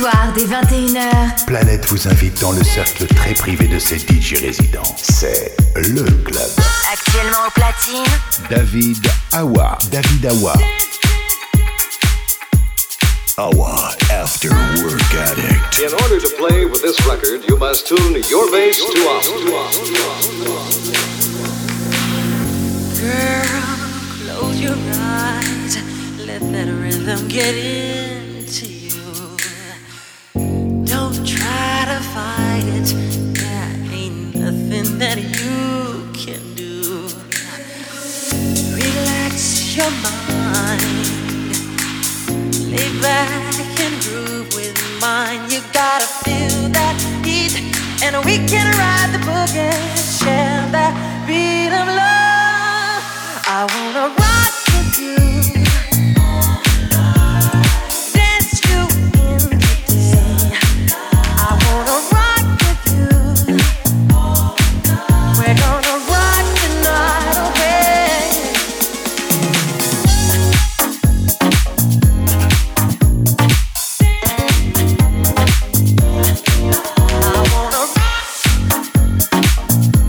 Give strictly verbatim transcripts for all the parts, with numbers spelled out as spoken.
soir, dès vingt et une heures, Planète vous invite dans le cercle très privé de ses D J résidents. C'est le club. actuellement au platine, David Awa. David Awa. Awa After Work Addict. In order to play with this record, you must tune your bass to us. Girl, close your eyes. Let that rhythm get into you. Don't try to fight it. There ain't nothing that you can do. Relax your mind. Lay back and groove with mine. You gotta feel that heat, and we can ride the boogie, share that beat of love. I wanna rock with you, dance you in the day. I wanna rock with you. We're gonna rock the night away. I wanna rock.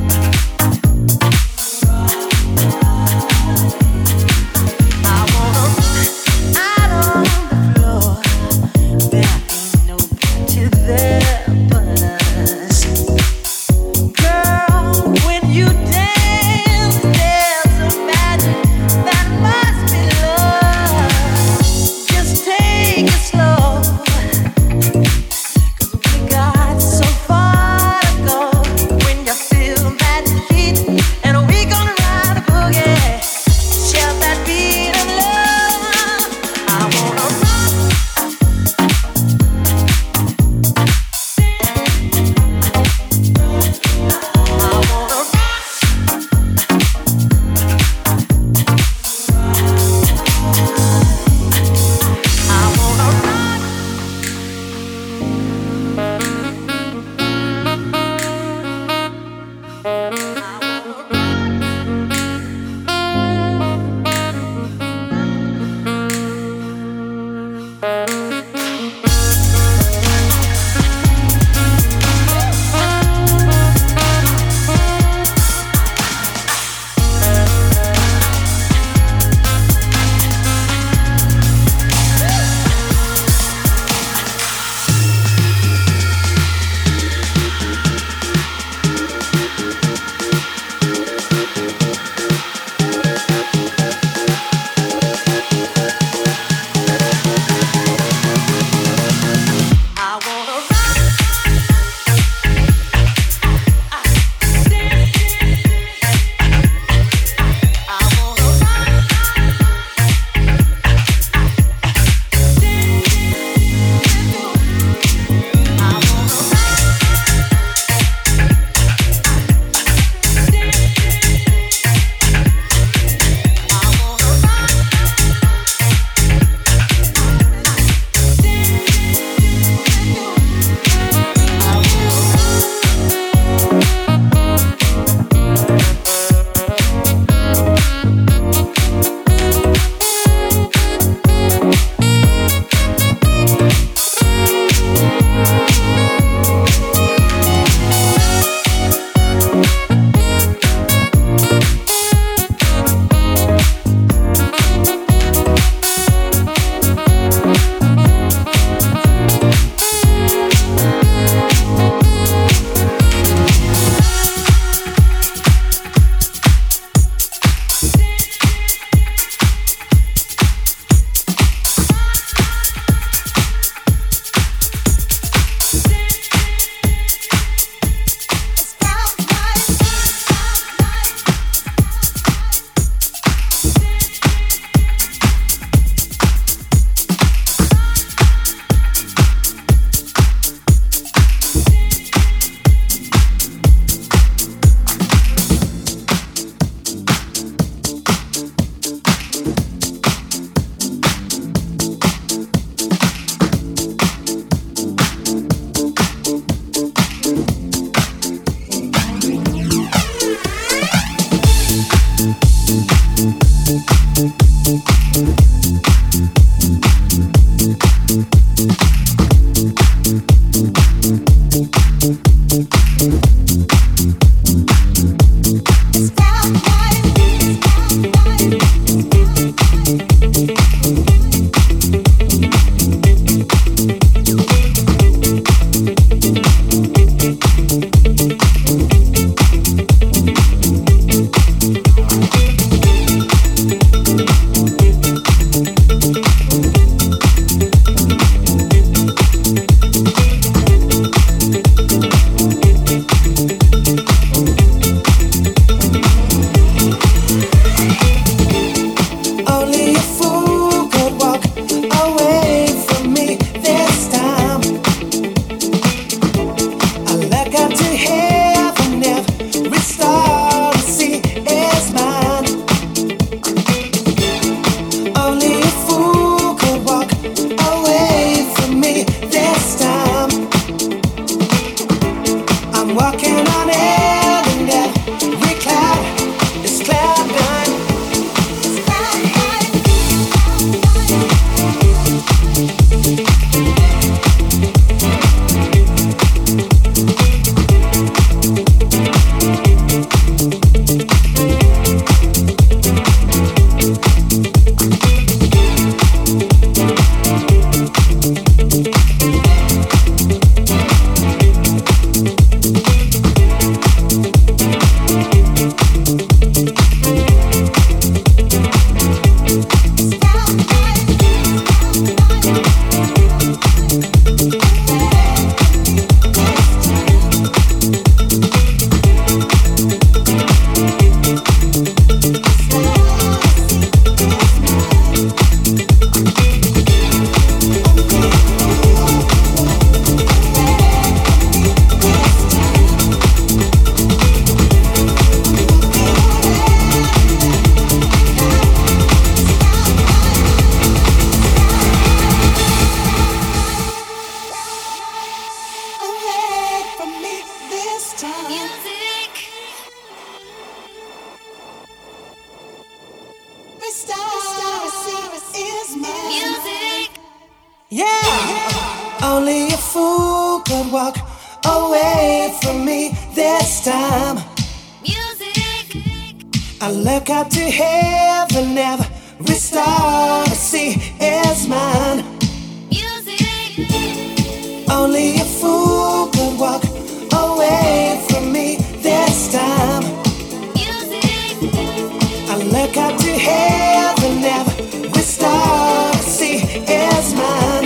Only a fool could walk away from me this time. Music. I look up to heaven, every star I see is mine. Music. Only a fool could walk away from me this time. Music. I look up to heaven, every star I see is mine.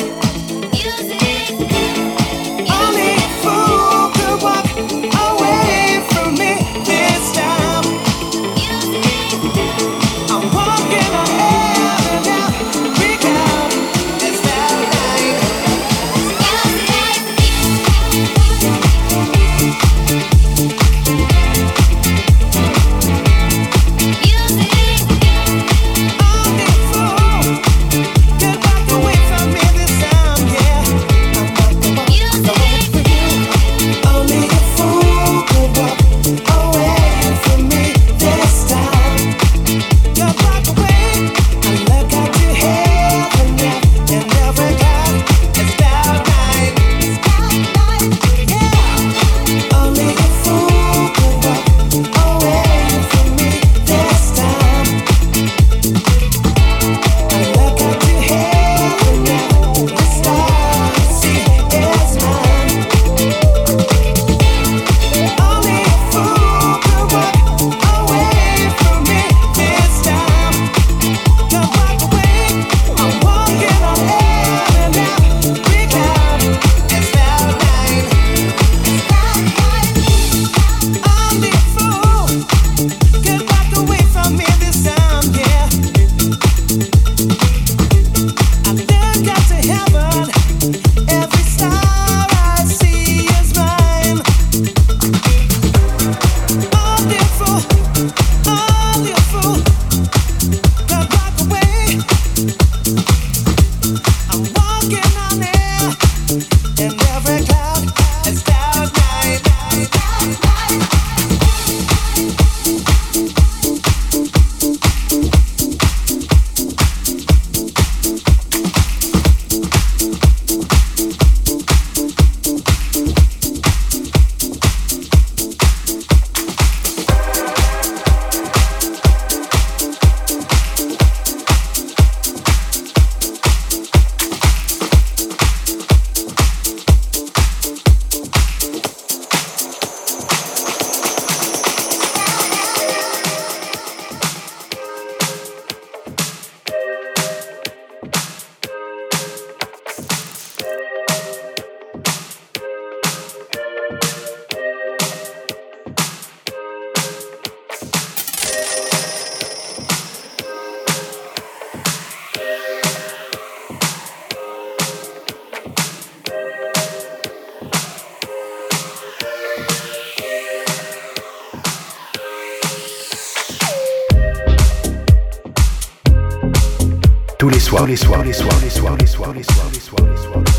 Tous les soirs, les soirs, les soirs, les soirs, les soirs, les soirs, les soirs, les soirs,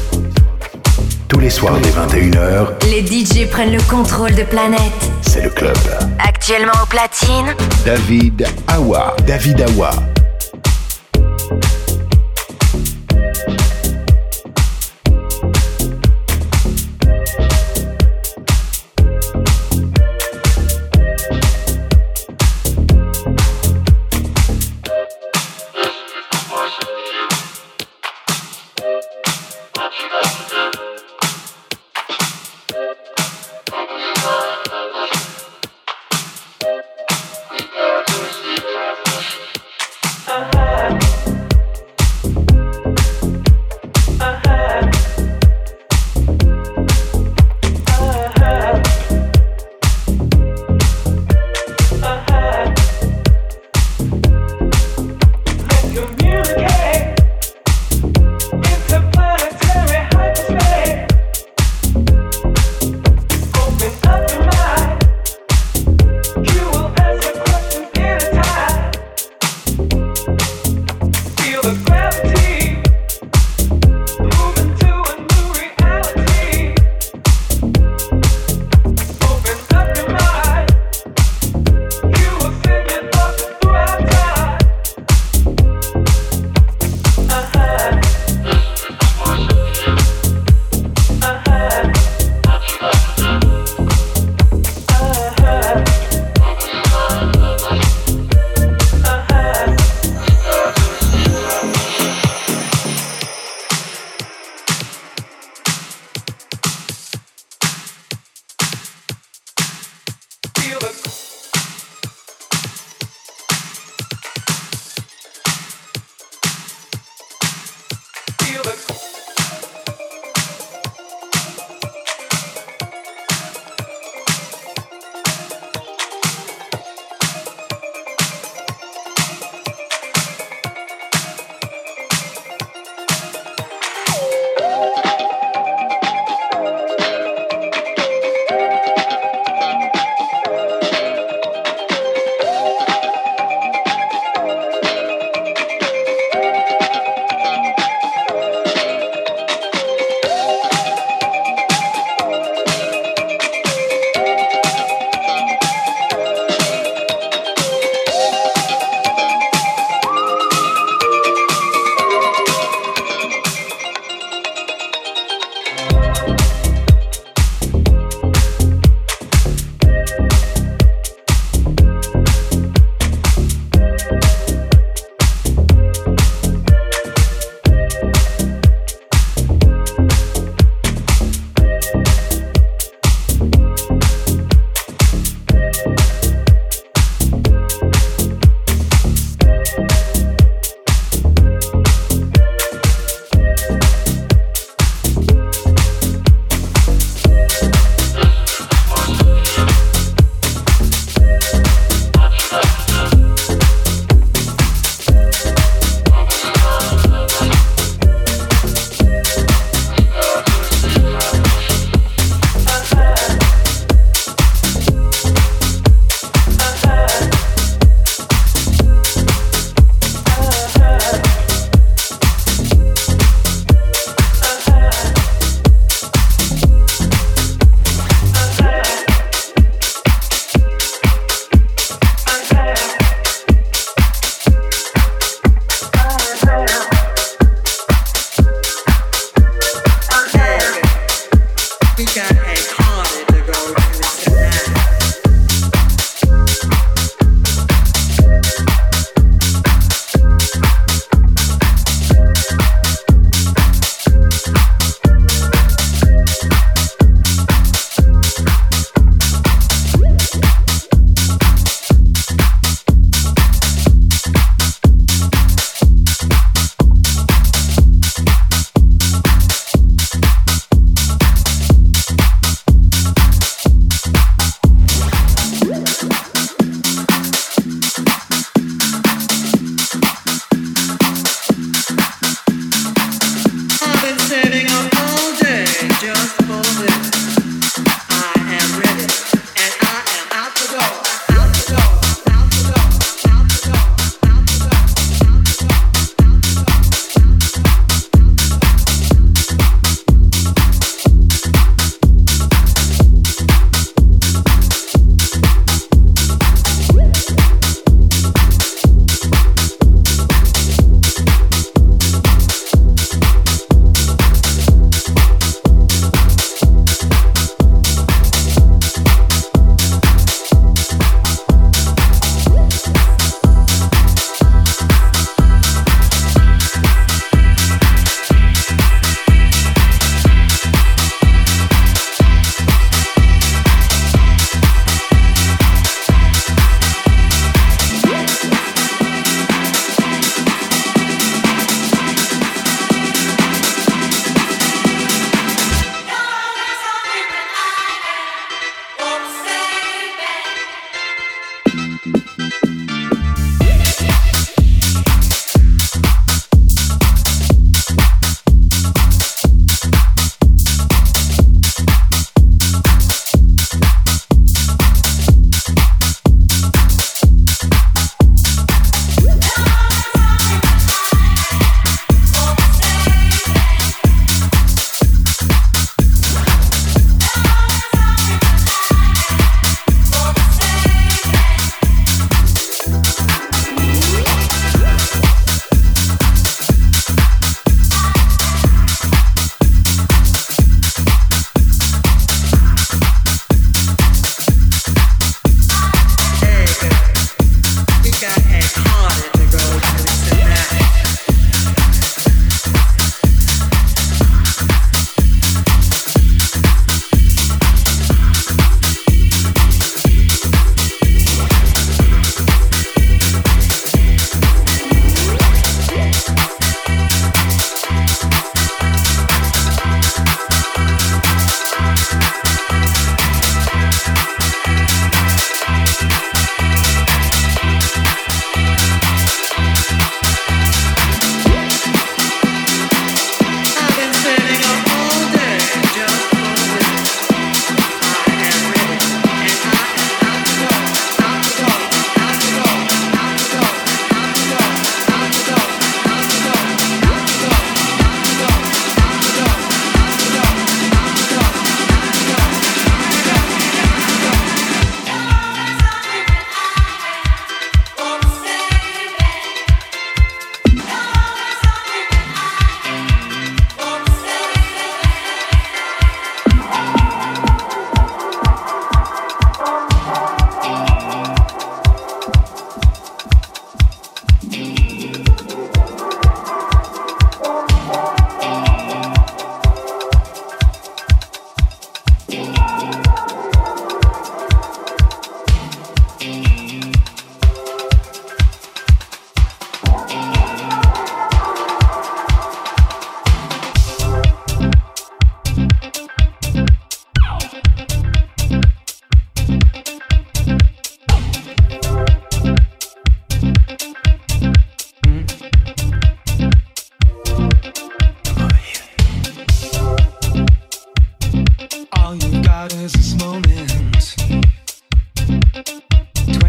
tous les soirs dès vingt et une heures, les D J prennent le contrôle de Planète. C'est le club. Actuellement au platine, David Awa. David Awa.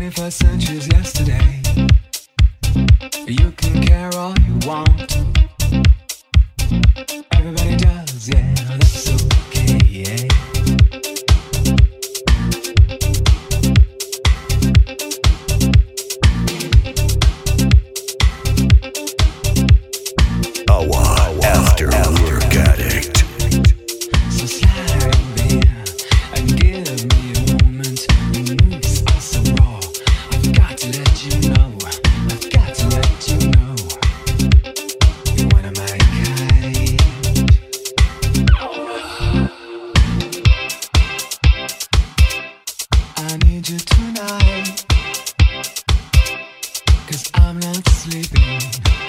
twenty-first century's yesterday. You can care all you want. Everybody does, yeah, that's okay, yeah. Awa After Work Addict. So slide over here and give me a moment. Your moves are so raw. I've got to let you know. I've got to let you know. You're one of my kind. I need you tonight, 'cause I'm not sleeping.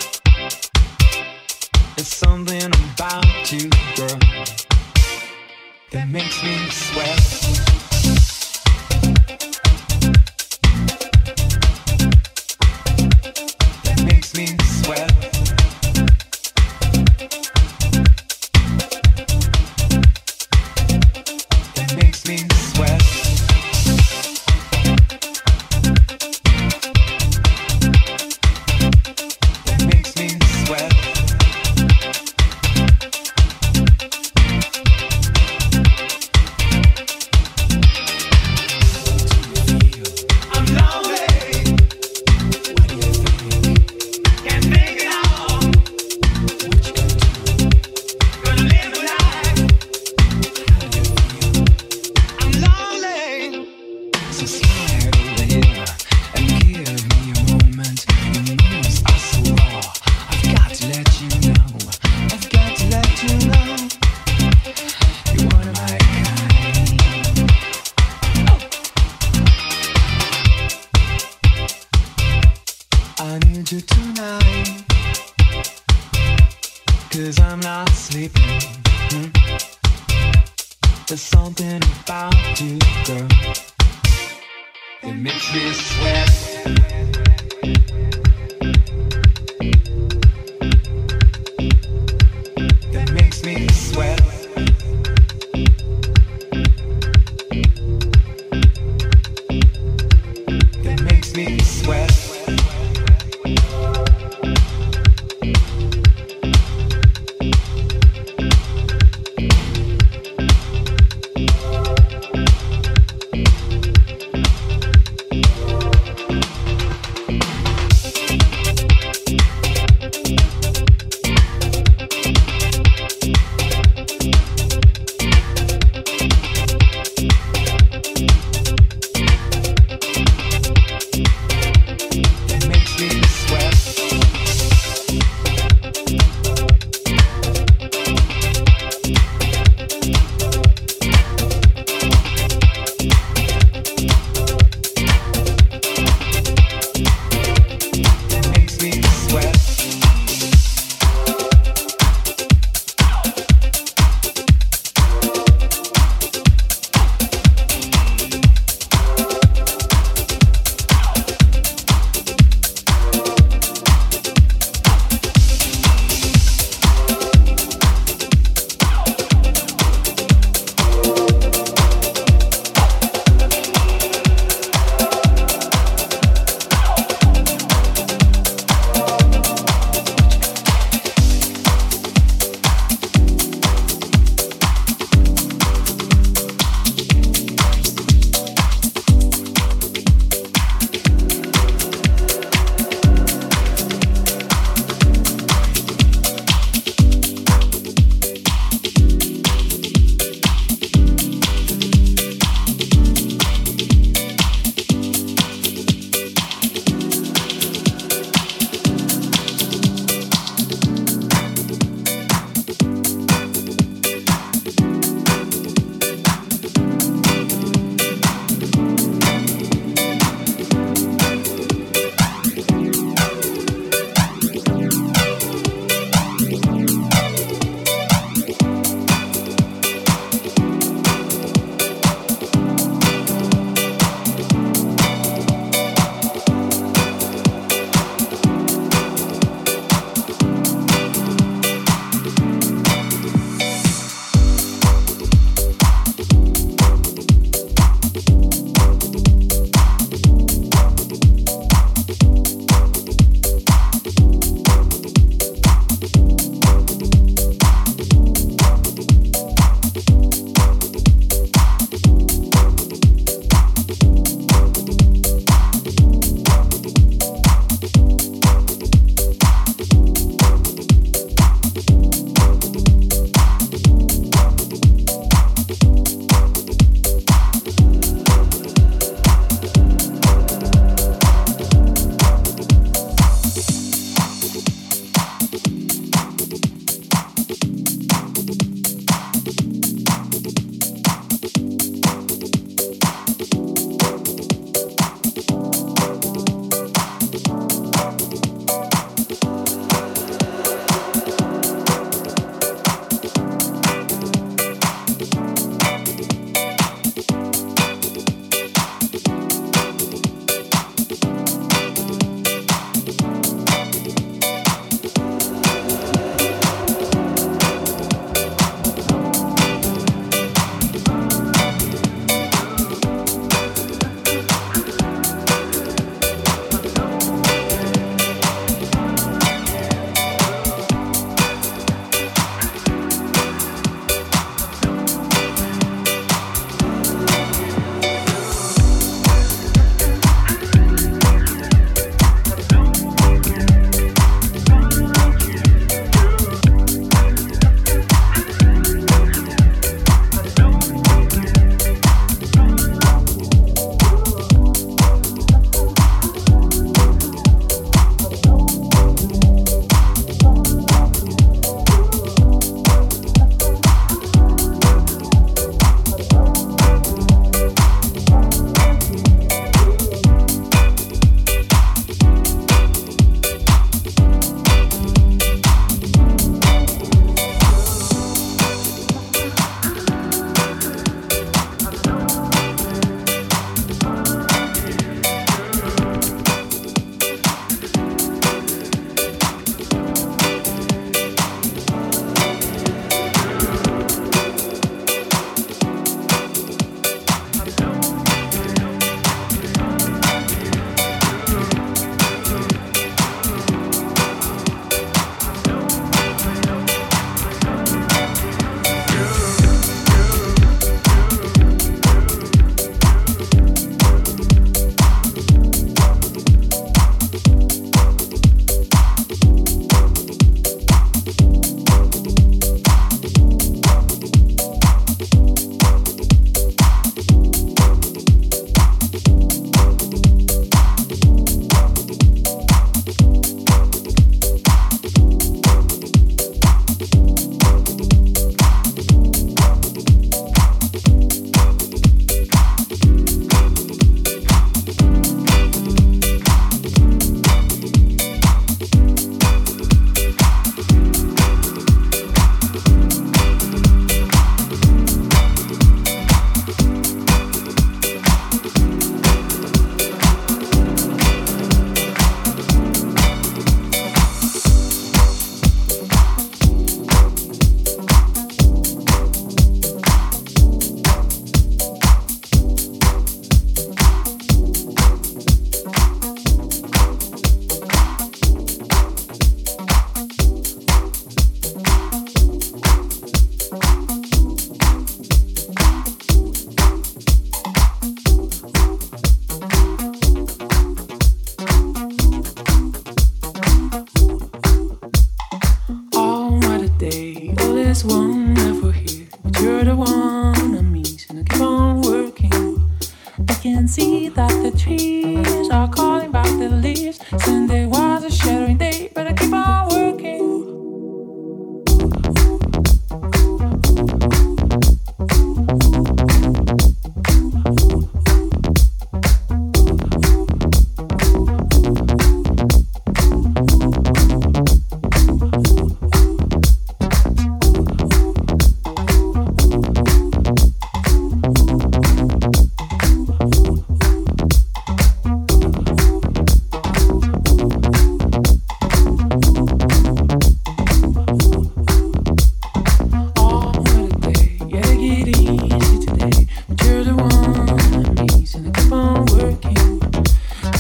There's something about you, girl, that makes me sweat. That makes me sweat. That makes me sweat. That makes me sweat. There's something about you, girl, that makes me sweat. That makes me sweat. That makes me sweat.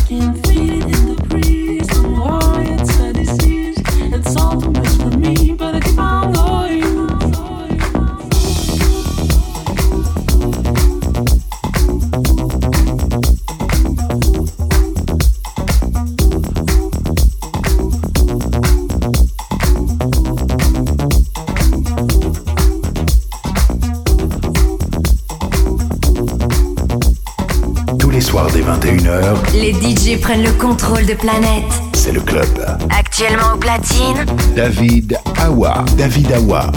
Les D J prennent le contrôle de Planète. C'est le club. Actuellement au platine, David Awa. David Awa.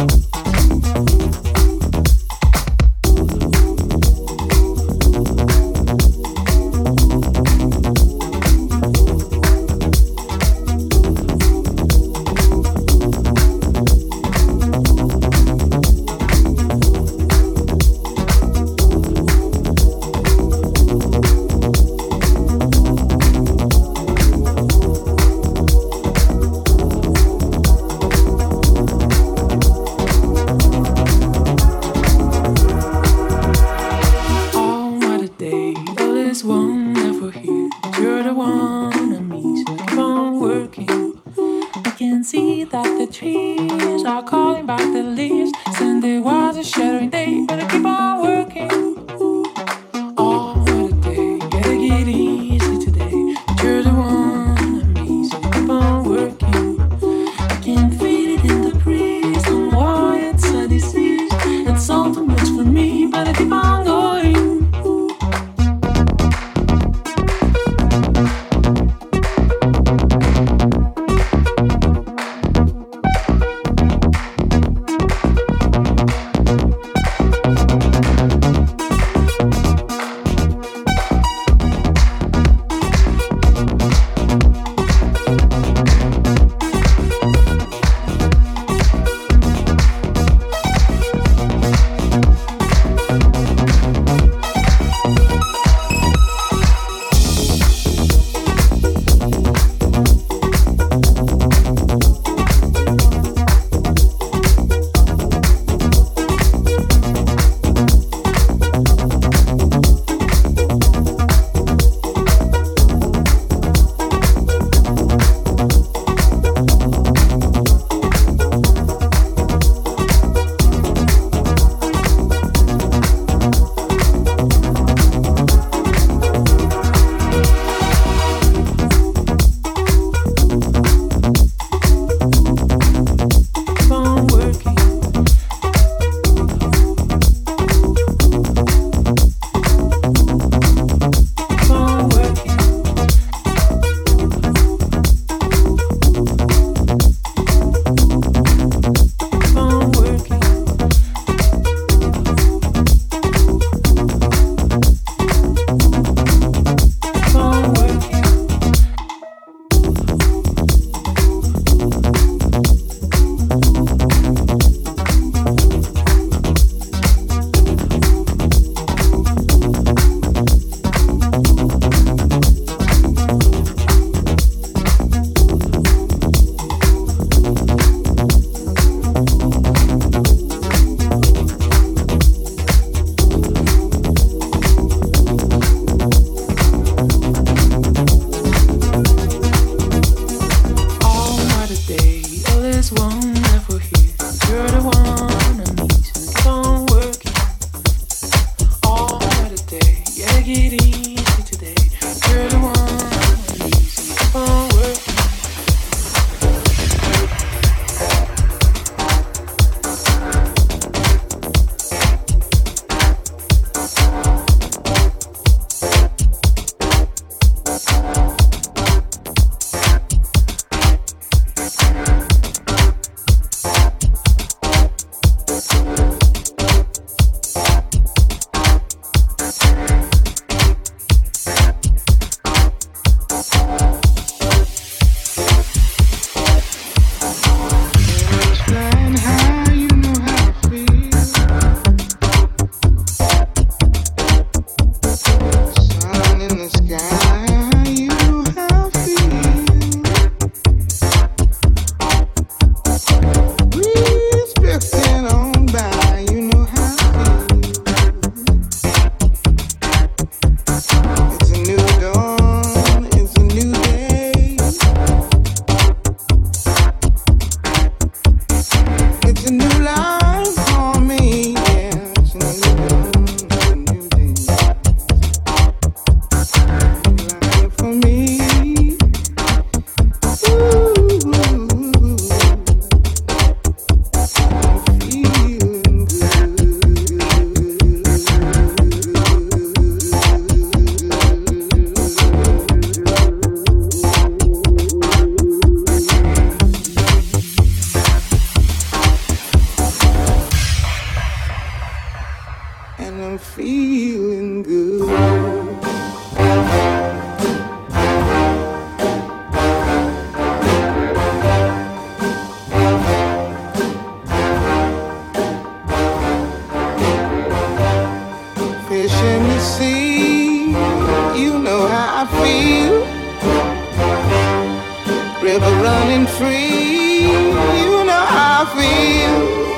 river running free. You know how I feel.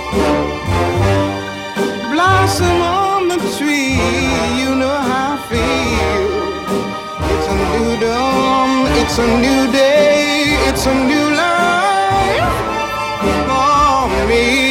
Blossom on the tree. You know how I feel. It's a new dawn. It's a new day. It's a new life for me.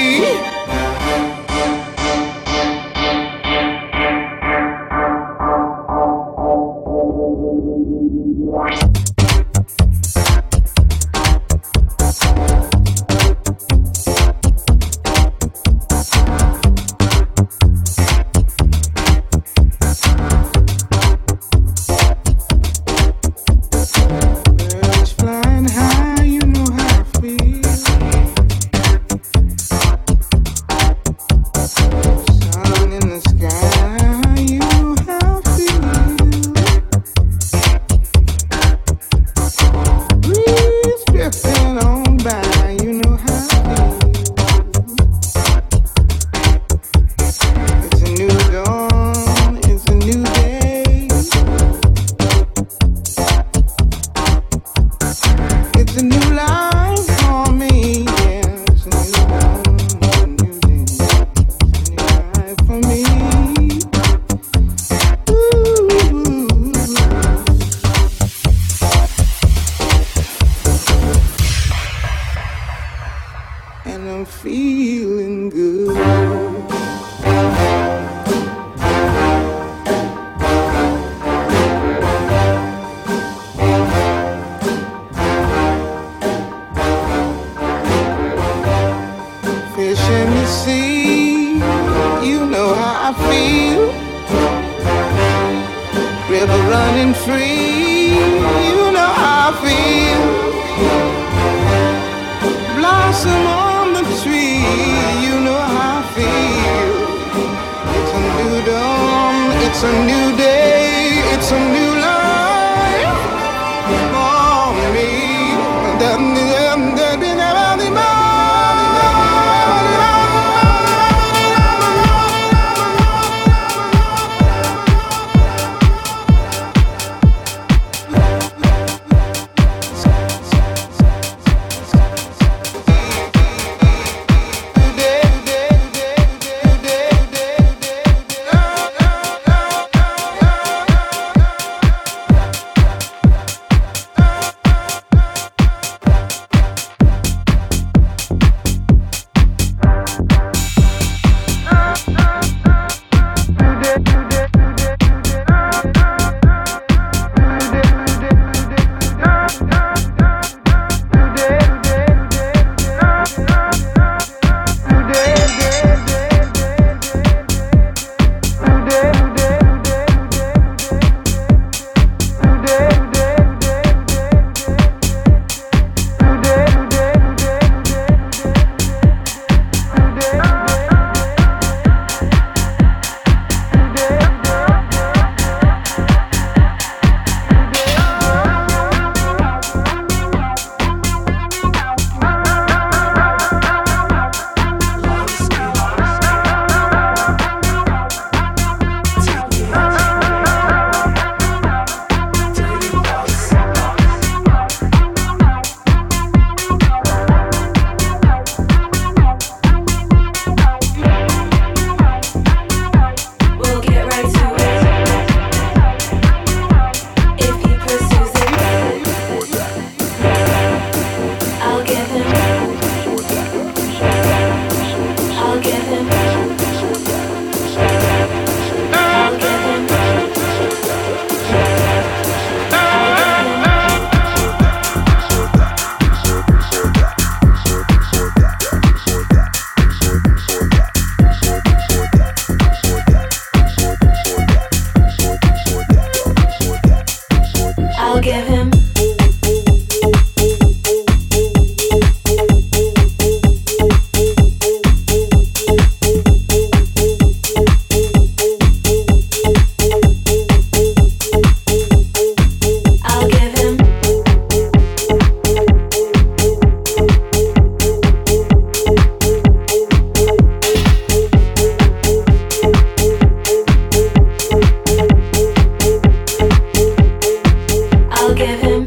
I'll give him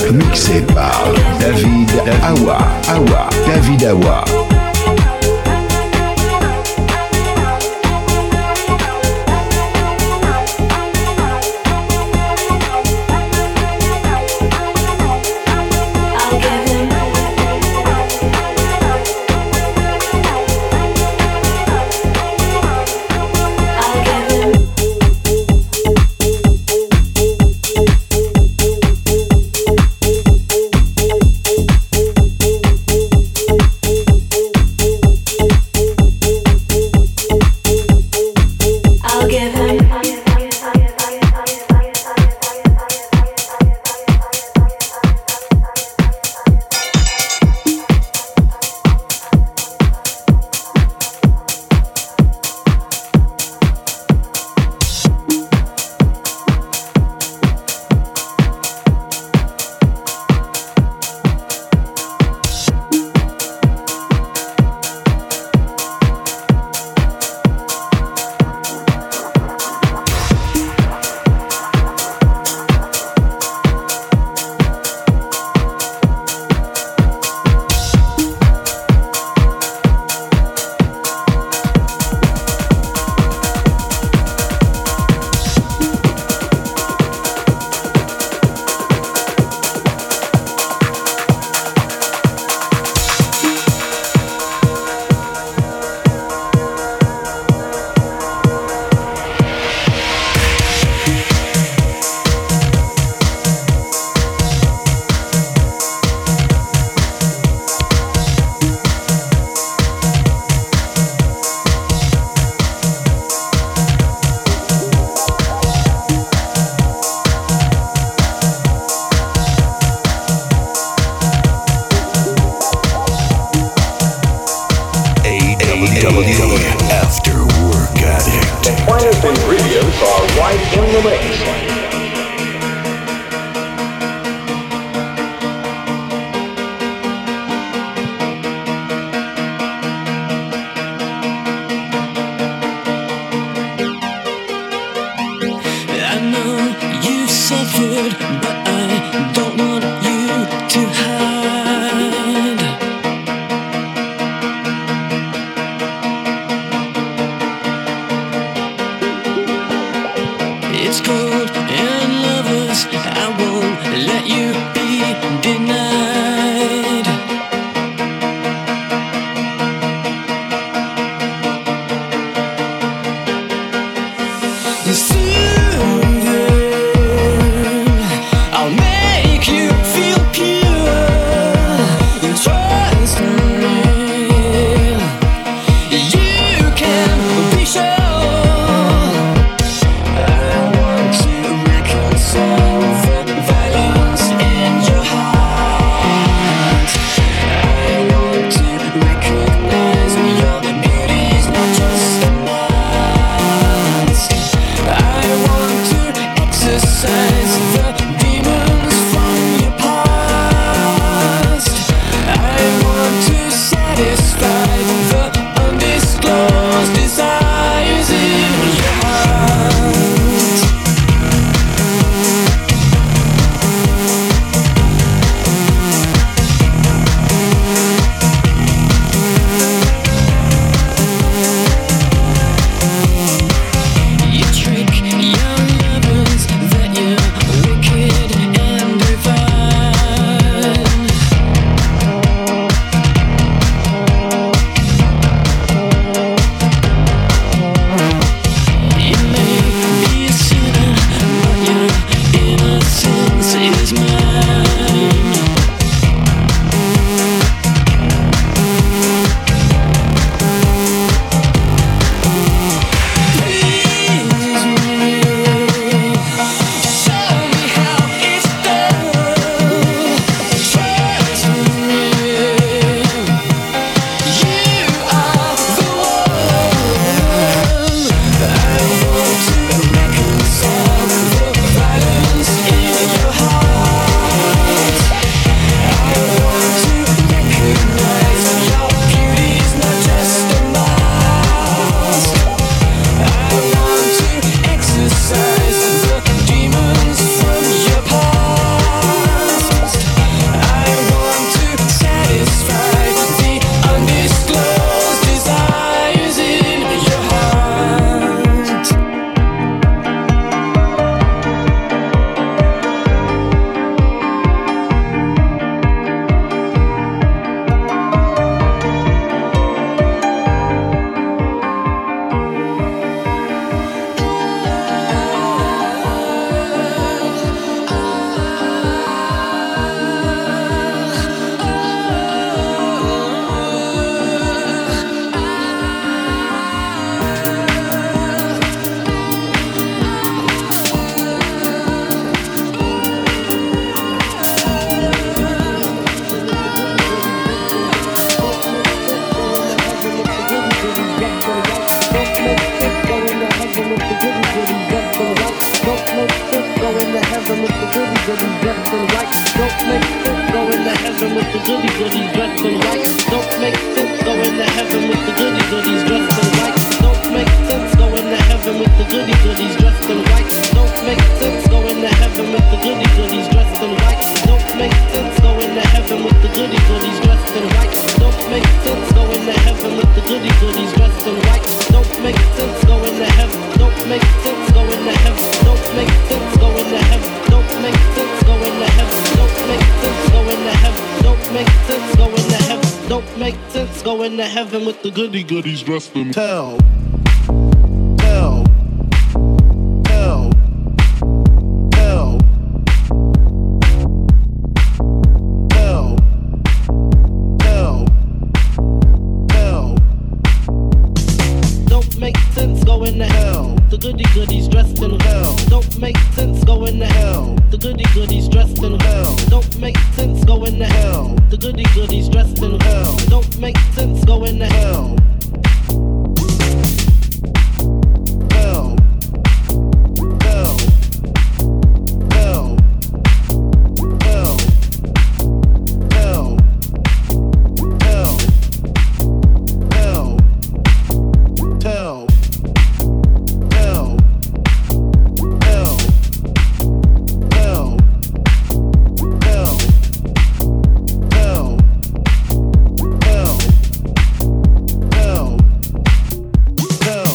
mixé par David Awa. Awa, David Awa. goody goodies dressed in white. Don't make sense going to heaven with the goody goodies dressed in white. Don't make sense going to heaven with the goody goodies dressed in white. Don't make sense going to heaven with the goody goodies dressed in white. Don't make sense going to heaven with the goody goodies dressed in white. Don't make sense going to heaven with the goody goodies dressed in white. Don't make sense going to heaven. Don't make sense going to heaven. Don't make sense going to heaven. Don't make sense going to heaven. Don't make sense going to heaven. Don't make sense going to heaven. Don't make sense going to heaven with the goody goodies dressed in hell. Hell. Hell. Hell. Hell. Hell. Hell. Don't make sense going to hell. The goody goodies dressed in hell. Don't make sense going to hell. The goody goodies dressed in hell. Don't make sense going to hell. The goody goodies dressed in hell. Don't make sense going to hell. Hell. Hell. Hell. Hell. Hell. Hell. Hell. Hell. Hell. Hell. Hell. Hell. Hell. Hell. Hell. Hell.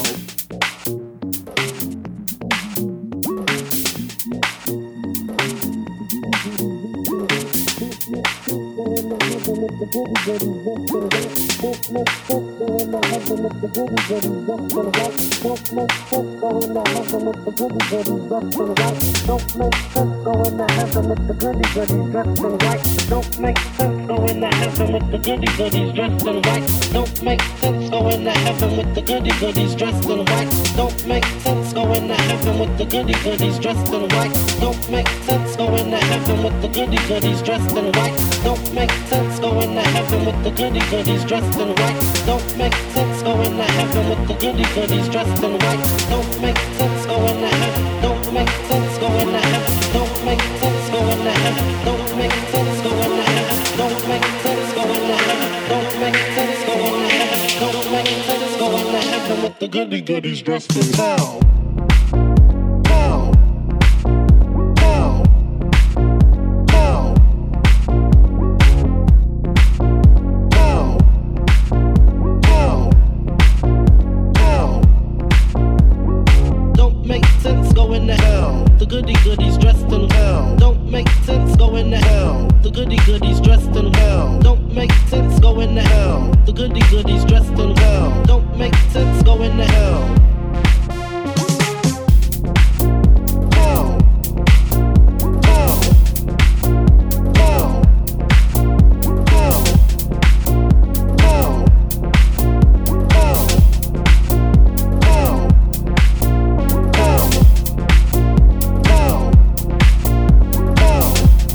Don't make sense going to heaven with the goody goodies dressed in white. Don't make sense going to heaven with the goody goodies dressed in white. Don't make sense going to heaven with the goody goodies dressed in white. Don't make sense going to heaven with the goody goodies dressed in white. Don't make sense going to heaven with the goody goodies dressed in white. Don't make sense going to heaven with the goody goodies dressed in white. Don't make sense going to heaven. Don't make sense going to heaven. Don't make sense going to heaven. Don't make sense going to heaven. Don't make sense going to heaven. Don't make sense going to heaven. Don't make sense going to heaven with the goody goodies dressed in hell. Hell. Hell. Hell. Hell. Hell. Hell. Don't make sense going to hell. The goody goodies dressed in hell. Don't make sense going to hell. The goody goodies dressed in hell. Don't make sense going to hell. The goody goodies dressed in hell. Don't make sense going to hell. Hell. Hell. Hell. Hell. Hell. Hell. Hell. Hell. Hell. Hell.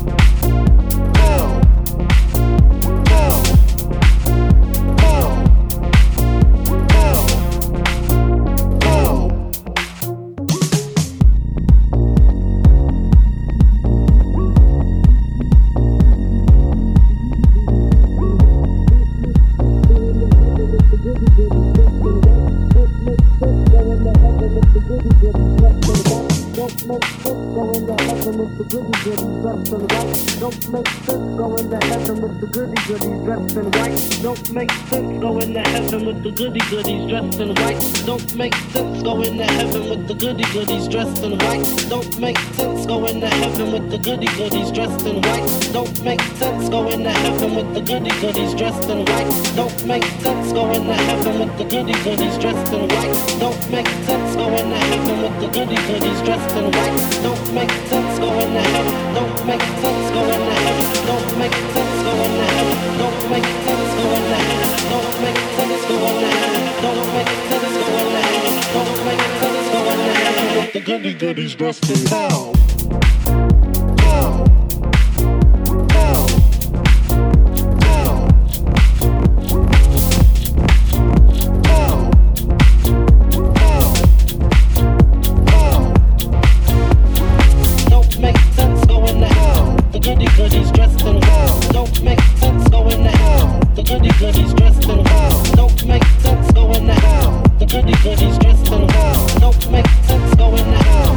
Don't make sense going to heaven with the goody goodies dressed in white. Don't make sense going to heaven with the goody goodies dressed in white. Don't make sense going to heaven with the goody goodies dressed in white. Don't make sense going to heaven with the goody goodies dressed in white. Don't make sense going to heaven with the goody goodies dressed in white. Don't make sense going to heaven with the goody goodies dressed in white. Don't make sense going to heaven with the goody goodies dressed in white. Don't make sense going to heaven. Don't make sense going to heaven. Don't make sense going to heaven. Don't make sense going to heaven. Don't make sense going to heaven. Don't make sense going to heaven. Don't make sense going to heaven with the goody goodies dressed in hell. Hell. Hell. Hell. Hell. Hell. Hell. Don't make sense going to hell. The goody goodies goodies dressed in white. Don't make sense, going to hell. The goody goodies dressed in white. Don't make sense, going to hell. The goody goodies dressed in white. Don't make sense, going to hell.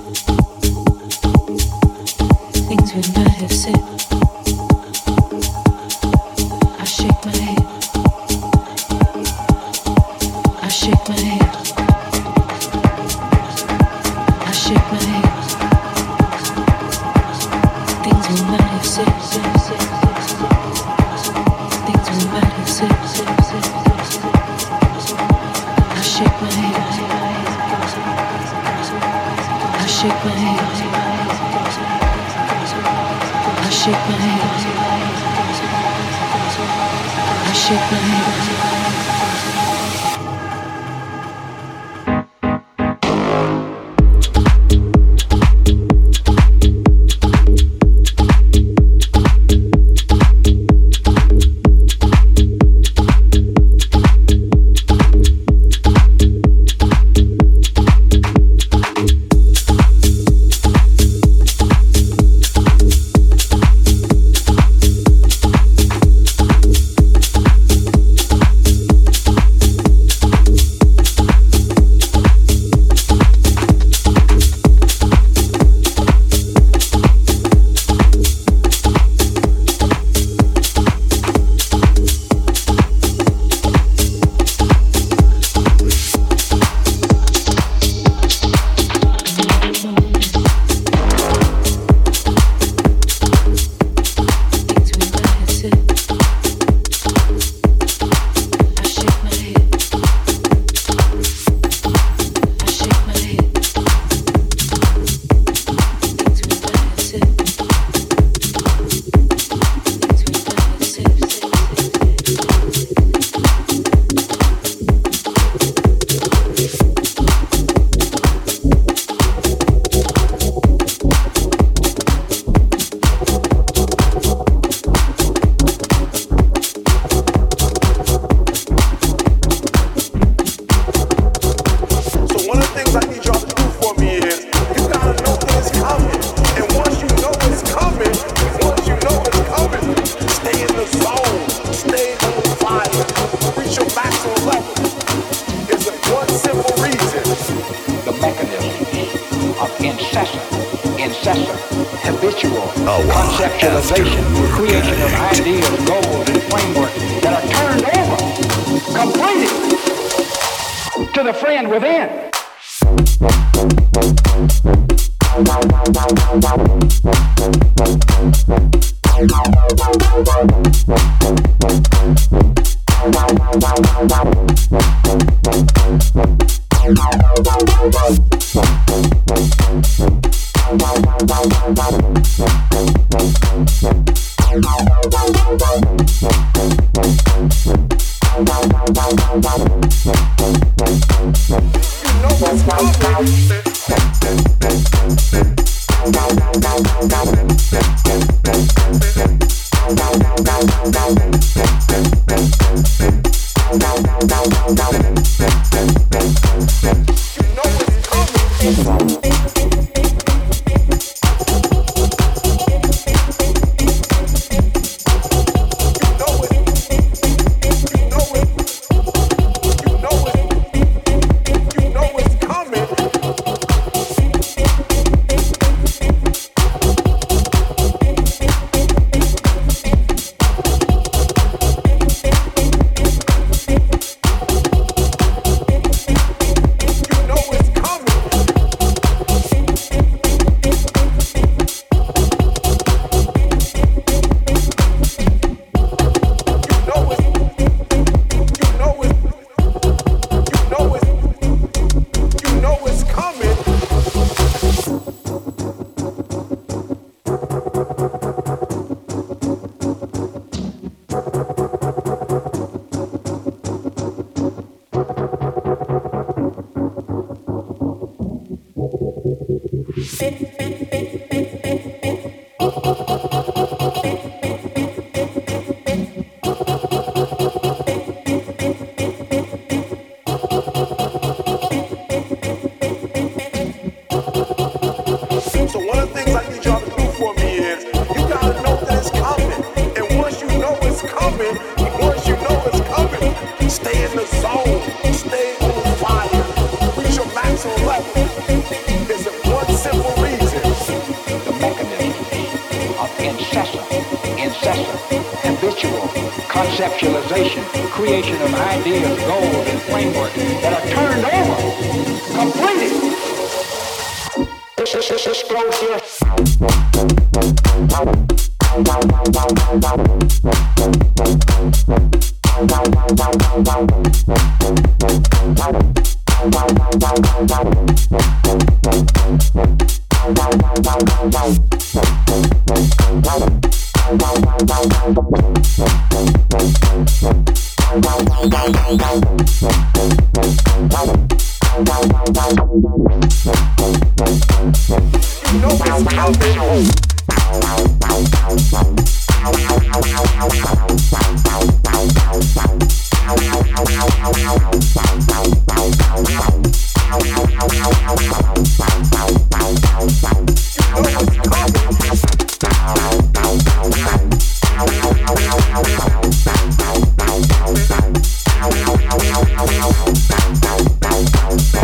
Things we might have said. shake my head. Conceptualization, creation of ideas, goals, and frameworks that are turned over, completed. Explosive. We'll be right back.